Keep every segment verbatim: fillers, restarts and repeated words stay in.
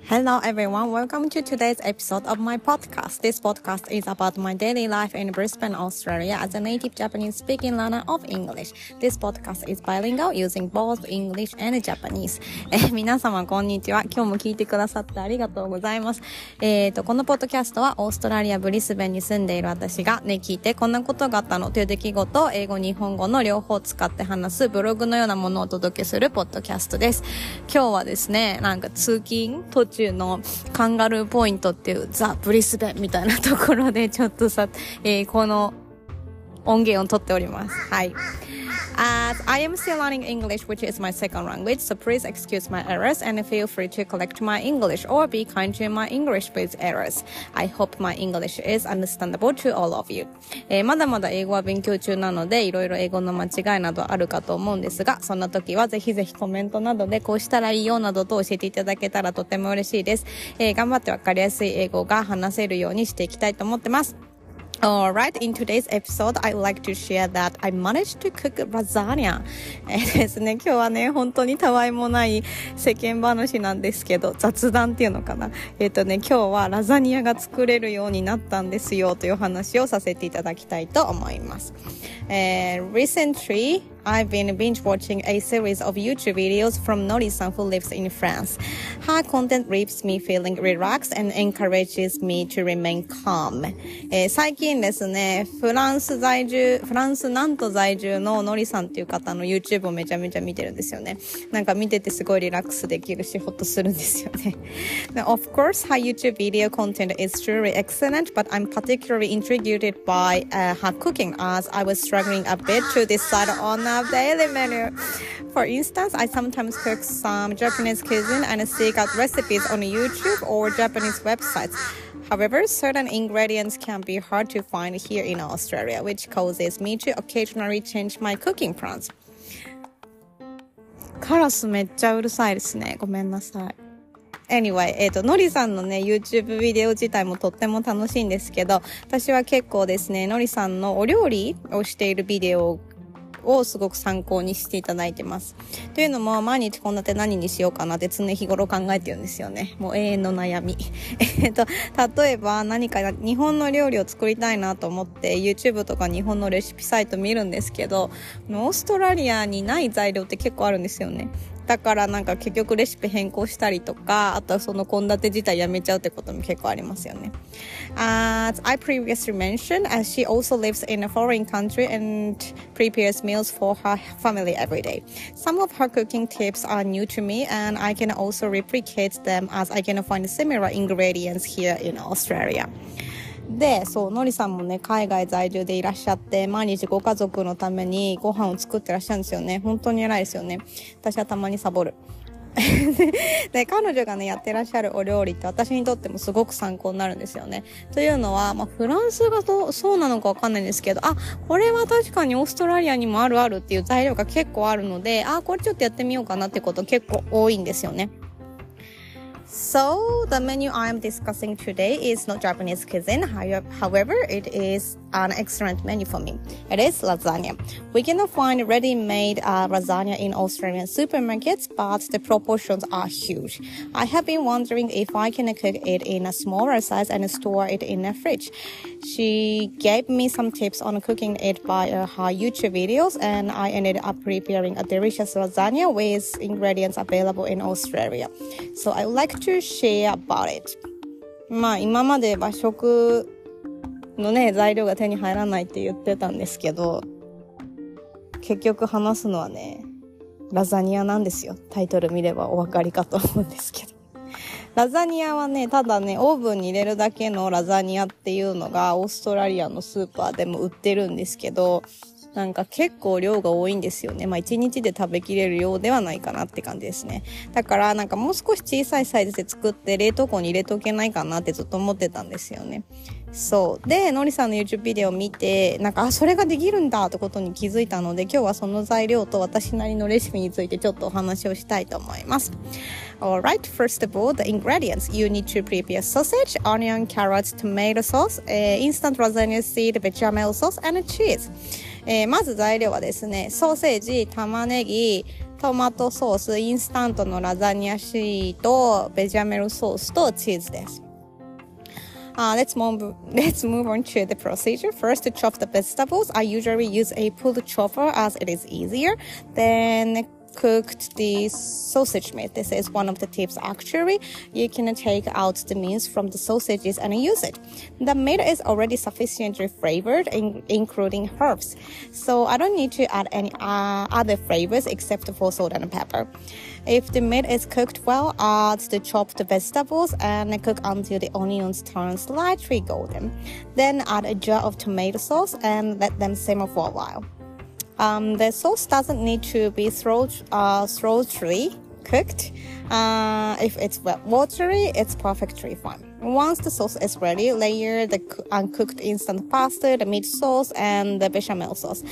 Hello everyone, welcome to today's episode of my podcast. This podcast is about my daily life in Brisbane, Australia as a native Japanese speaking learner of English. This podcast is bilingual using both English and Japanese. えー、皆様こんにちは。今日も聞いてくださってありがとうございます。えーと、このポッドキャストはオーストラリアブリスベンに住んでいる私がね、聞いてこんなことがあったのという出来事を英語、日本語の両方使って話すブログのようなものをお届けするポッドキャストです。今日はですね、なんか通勤途中のカンガルーポイントっていうザ・ブリスベンみたいなところでちょっとさ、えー、この音源を取っております。はい。As I am still learning English, which is my second language, so please excuse my errors and feel free to correct my English or be kind to my English with errors. I hope my English is understandable to all of you. えー、まだまだ英語は勉強中なので、いろいろ英語の間違いなどあるかと思うんですが、そんな時はぜひぜひコメントなどでこうしたらいいよなどと教えていただけたらとても嬉しいです。えー、頑張ってわかりやすい英語が話せるようにしていきたいと思ってます。Alright, in today's episode, I'd like to share that I managed to cook lasagna. えーですね、今日はね、本当にたわいもない世間話なんですけど、雑談っていうのかな。えっとね、今日はラザニアが作れるようになったんですよという話をさせていただきたいと思います。えー、recently, I've been binge watching a series of YouTube videos from Nori-san who lives in France. Her content leaves me feeling relaxed and encourages me to remain calm. えー、最近ですね、フランス在住、フランスナント在住のノリさんっていう方の YouTube をめちゃめちゃ見てるんですよね。なんか見ててすごいリラックスできるし、ほっとするんですよね。Of course, her YouTube video content is truly excellent, but I'm particularly intrigued by uh, her cooking as I was struggling a bit to decide on a daily menu. For instance, I sometimes cook some Japanese cuisine and seek out recipes on YouTube or Japanese websites. However, certain ingredients can be hard to find here in Australia, which causes me to occasionally change my cooking plans. カラスめっちゃうるさいですね。ごめんなさい。Anyway, えっと、のりさんのね、YouTube ビデオ自体もとっても楽しいんですけど、私は結構ですね、のりさんのお料理をしているビデオをすごく参考にしていただいてます。というのも、毎日献立何にしようかなって常日頃考えてるんですよね。もう永遠の悩み。えっと、例えば何か日本の料理を作りたいなと思って YouTube とか日本のレシピサイト見るんですけど、オーストラリアにない材料って結構あるんですよね。だからなんか結局レシピ変更したりとか、あとはその献立自体やめちゃうってことも結構ありますよね。As I previously mentioned, as she also lives in a foreign country and prepares meals for her family every day. Some of her cooking tips are new to me and I can also replicate them as I can find similar ingredients here in Australia.で、そう、のりさんもね、海外在住でいらっしゃって、毎日ご家族のためにご飯を作ってらっしゃるんですよね。本当に偉いですよね。私はたまにサボる。で、彼女がね、やってらっしゃるお料理って私にとってもすごく参考になるんですよね。というのは、まあ、フランスがどう、そうなのかわかんないんですけど、あ、これは確かにオーストラリアにもあるあるっていう材料が結構あるので、あ、これちょっとやってみようかなってこと結構多いんですよね。So, the menu I am discussing today is not Japanese cuisine. However, it is an excellent menu for me. It is lasagna. We can find ready-made uh, lasagna in Australian supermarkets, but the proportions are huge. I have been wondering if I can cook it in a smaller size and store it in a fridge. She gave me some tips on cooking it by uh, her YouTube videos, and I ended up preparing a delicious lasagna with ingredients available in Australia. So I would like to share about it. まあ今まで和食のね材料が手に入らないって言ってたんですけど、結局話すのはねラザニアなんですよ。タイトル見ればお分かりかと思うんですけど、ラザニアはねただねオーブンに入れるだけのラザニアっていうのがオーストラリアのスーパーでも売ってるんですけど、なんか結構量が多いんですよね。まあ一日で食べきれる量ではないかなって感じですね。だからなんかもう少し小さいサイズで作って冷凍庫に入れとけないかなってずっと思ってたんですよね。そう。で、のりさんの YouTube ビデオを見て、なんか、あ、それができるんだってことに気づいたので、今日はその材料と私なりのレシピについてちょっとお話をしたいと思います。Alright, first of all, the ingredients. You need to prepare sausage, onion, carrots, tomato sauce, uh, instant lasagna seed, bechamel sauce, and cheese. えー、まず材料はですね、ソーセージ、玉ねぎ、トマトソース、インスタントのラザニアシート、ベジャメルソースとチーズです。Uh, let's move, let's move on to the procedure. First, to chop the vegetables. I usually use a pulled chopper as it is easier. Then cooked the sausage meat. This is one of the tips actually. You can take out the meats from the sausages and use it. The meat is already sufficiently flavored, in, including herbs. So I don't need to add any uh, other flavors except for salt and pepper. If the meat is cooked well, add the chopped vegetables and cook until the onions turn slightly golden. Then add a jar of tomato sauce and let them simmer for a while.Um, the sauce doesn't need to be throat, uh, thoroughly cooked. Uh, if it's watery, it's perfectly fine. Once the sauce is ready, layer the uncooked instant pasta, the meat sauce, and the bechamel sauce.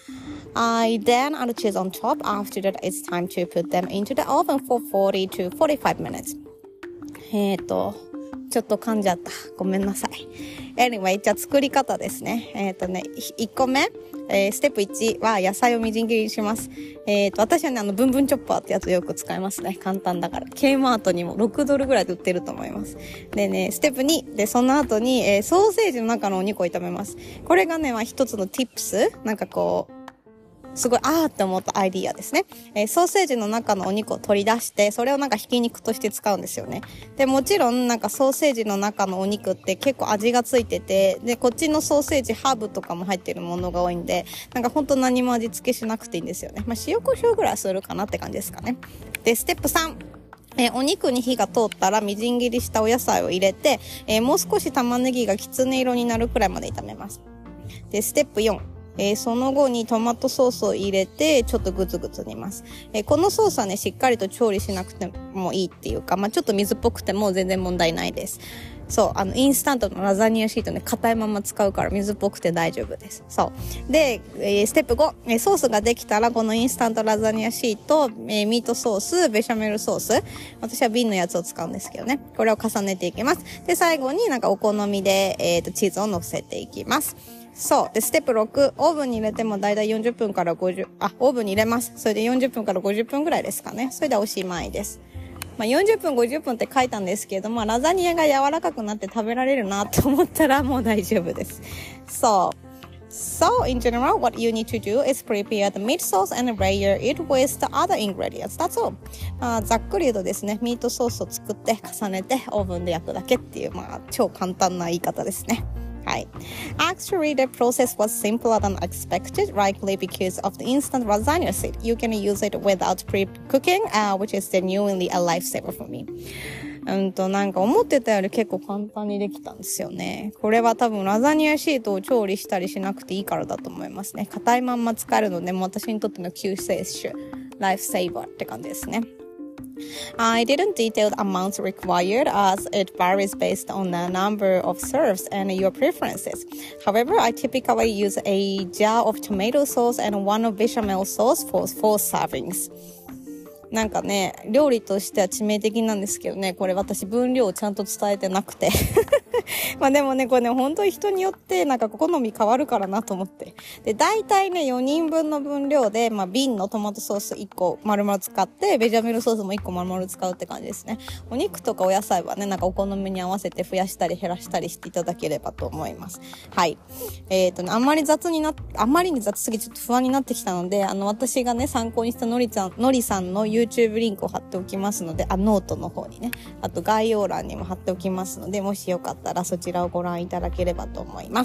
I then add cheese on top. After that, it's time to put them into the oven for forty to forty-five minutes. えーと、ちょっと噛んじゃった。ごめんなさい。Anyway、じゃあ作り方ですね。えーとね、いっこめ。えー、ステップいちは野菜をみじん切りにします。えーと、私はね、あの、ブンブンチョッパーってやつよく使いますね。簡単だから。K マートにもろくドルぐらいで売ってると思います。でね、ステップに、で、その後に、えー、ソーセージの中のお肉を炒めます。これがね、まあ、一つの tips。なんかこう、すごい、あーって思ったアイディアですね。えー、ソーセージの中のお肉を取り出して、それをなんかひき肉として使うんですよね。で、もちろんなんかソーセージの中のお肉って結構味がついてて、で、こっちのソーセージ、ハーブとかも入ってるものが多いんで、なんかほんと何も味付けしなくていいんですよね。まあ、塩コショウぐらいするかなって感じですかね。で、ステップさん。えー、お肉に火が通ったらみじん切りしたお野菜を入れて、えー、もう少し玉ねぎがきつね色になるくらいまで炒めます。で、ステップよん。えー、その後にトマトソースを入れてちょっとグツグツ煮ます。えー、このソースはね、しっかりと調理しなくてもいいっていうか、まあ、ちょっと水っぽくても全然問題ないです。そう、あの、インスタントのラザニアシートね、硬いまま使うから水っぽくて大丈夫です。そう。で、えー、ステップご、えー、ソースができたらこのインスタントラザニアシート、えー、ミートソース、ベシャメルソース、私は瓶のやつを使うんですけどね、これを重ねていきます。で、最後になんかお好みで、えーと、チーズを乗せていきます。そう。で、ステップろく、オーブンに入れてもだいたいよんじゅっぷんからごじゅう、あ、オーブンに入れます。それでよんじゅっぷんからごじゅっぷんぐらいですかね。それでおしまいです。まあ、よんじゅっぷん、ごじゅっぷんって書いたんですけども、ラザニアが柔らかくなって食べられるなと思ったらもう大丈夫です。そう。So, in general, what you need to do is prepare the meat sauce and layer it with the other ingredients. That's all. まあ、ざっくり言うとですね、ミートソースを作って重ねてオーブンで焼くだけっていう、まあ、超簡単な言い方ですね。はい。Actually, the process was simpler than expected, likely because of the instant lasagna seed. You can use it without pre-cooking, uh, which is genuinely a lifesaver for me. うんと、なんか思ってたより結構簡単にできたんですよね。これは多分ラザニアシートを調理したりしなくていいからだと思いますね。硬いまんま使えるので、もう私にとっての救世主、ライフセーバーって感じですね。I didn't detail the amounts required as it varies based on the number of serves and your preferences. However, I typically use a jar of tomato sauce and one of bechamel sauce for four servings. なんかね、料理としては致命的なんですけどね、これ私分量をちゃんと伝えてなくて。まあでもね、これね、本当に人によってなんか好み変わるからなと思って。で、大体ね、よにんぶんの分量で、まあ瓶のトマトソースいっこ丸々使って、ベジャメルソースもいっこ丸々使うって感じですね。お肉とかお野菜はね、なんかお好みに合わせて増やしたり減らしたりしていただければと思います。はい。えっとね、あんまり雑になっ、あんまりに雑すぎてちょっと不安になってきたので、あの、私がね、参考にしたのりちゃん、のりさんの YouTube リンクを貼っておきますので、あ、ノートの方にね、あと概要欄にも貼っておきますので、もしよかったらそちらをご覧いただければと思います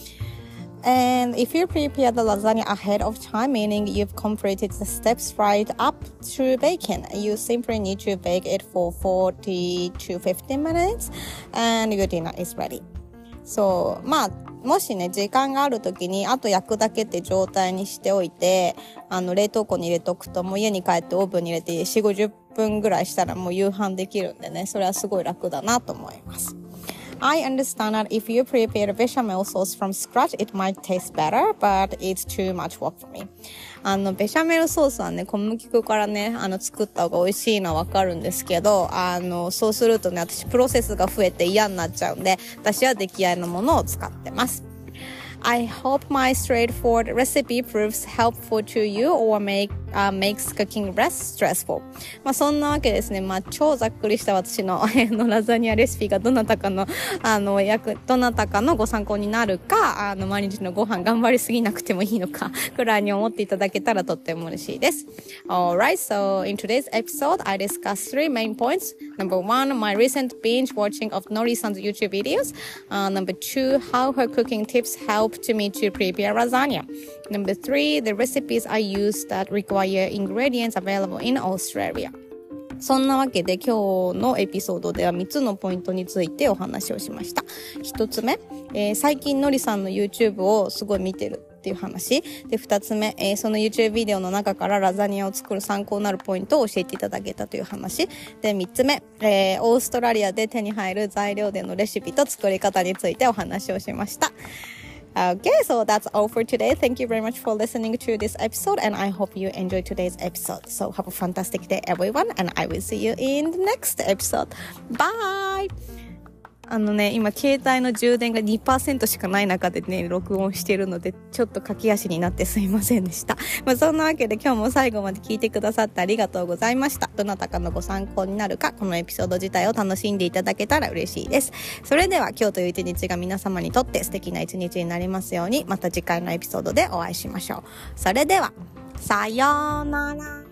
。And if you prepare the lasagna ahead of time, meaning you've completed the steps right up to baking, you simply need to bake it for forty to fifty minutes and your dinner is ready. そう、まあ、もしね、時間があるときに、あと焼くだけって状態にしておいて、あの、冷凍庫に入れとくと、もう家に帰ってオーブンに入れてよんじゅう、ごじゅっぷんぐらいしたらもう夕飯できるんでね、それはすごい楽だなと思います。I understand that if you prepare bechamel sauce from scratch, it might taste better, but it's too much work for me. あの、ベシャメルソースはね、小麦粉からね、あの、作った方が美味しいのはわかるんですけど、あの、そうするとね、私プロセスが増えて嫌になっちゃうんで、私は出来合いのものを使ってます。 I hope my straightforward recipe proves helpful to you or make,Uh, makes cooking less stressful. まあそんなわけですね。まあ超ざっくりした私ののラザニアレシピがどなたかのあの役どなたかのご参考になるか、あの毎日のご飯頑張りすぎなくてもいいのかくらいに思っていただけたらとっても嬉しいです。Alright, so in today's episode, I discuss three main points. Number one, my recent binge watching of Nori-san's YouTube videos. Uh, number two, how her cooking tips helped me to prepare lasagna. Number three, the recipes I use that require ingredients available in Australia. そんなわけで今日のエピソードではみっつのポイントについてお話をしました。ひとつめ、えー、最近のりさんの YouTube をすごい見てるっていう話で、ふたつめ、えー、その YouTube ビデオの中からラザニアを作る参考になるポイントを教えていただけたという話で、みっつめ、えー、オーストラリアで手に入る材料でのレシピと作り方についてお話をしました。Okay, so that's all for today. Thank you very much for listening to this episode, and I hope you enjoyed today's episode. So have a fantastic day, everyone, and I will see you in the next episode. Bye! あのね、今携帯の充電が にパーセント しかない中でね、録音しているので、ちょっと駆け足になってすいませんでした。まあそんなわけで今日も最後まで聞いてくださってありがとうございました。どなたかのご参考になるか、このエピソード自体を楽しんでいただけたら嬉しいです。それでは今日という一日が皆様にとって素敵な一日になりますように、また次回のエピソードでお会いしましょう。それでは、さようなら。